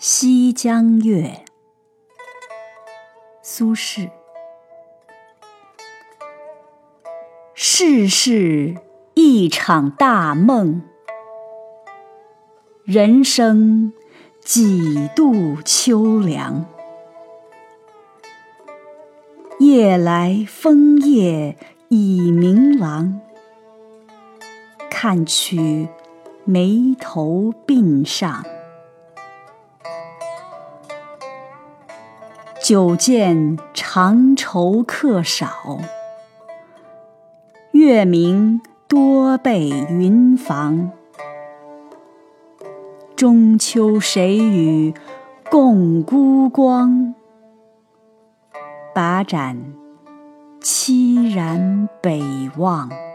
西江月，苏轼。世事一场大梦，人生几度秋凉。夜来风叶已明朗，看取眉头鬓上。久见长愁客少，月明多被云妨。中秋谁与共孤光？把盏凄然北望。